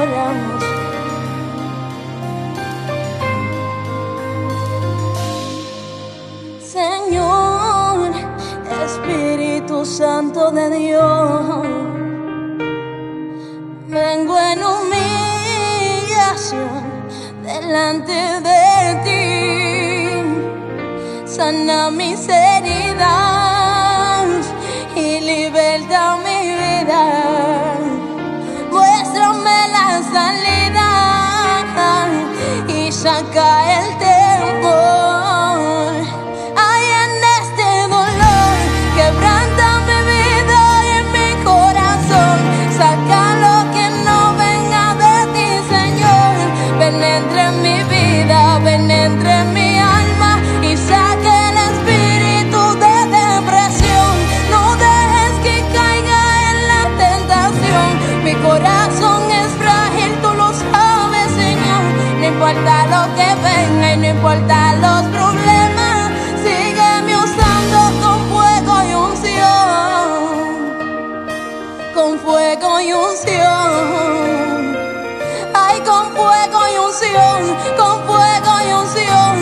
adoramos. Señor, Espíritu Santo de Dios, vengo en humillación delante de ti. Sana mis heridas y liberta mi vida. Muéstrame la salida y saca el temor. Hay en este dolor, quebranta mi vida y en mi corazón. Saca lo que no venga de ti, Señor. Ven entre mi vida, ven entre mi alma y saca el espíritu de depresión. No dejes que caiga en la tentación. Mi corazón es frágil, tú lo sabes, Señor. No importa lo que venga y no importa los problemas, sígueme usando con fuego y unción. Con fuego y unción. Ay, con fuego y unción, con fuego y unción.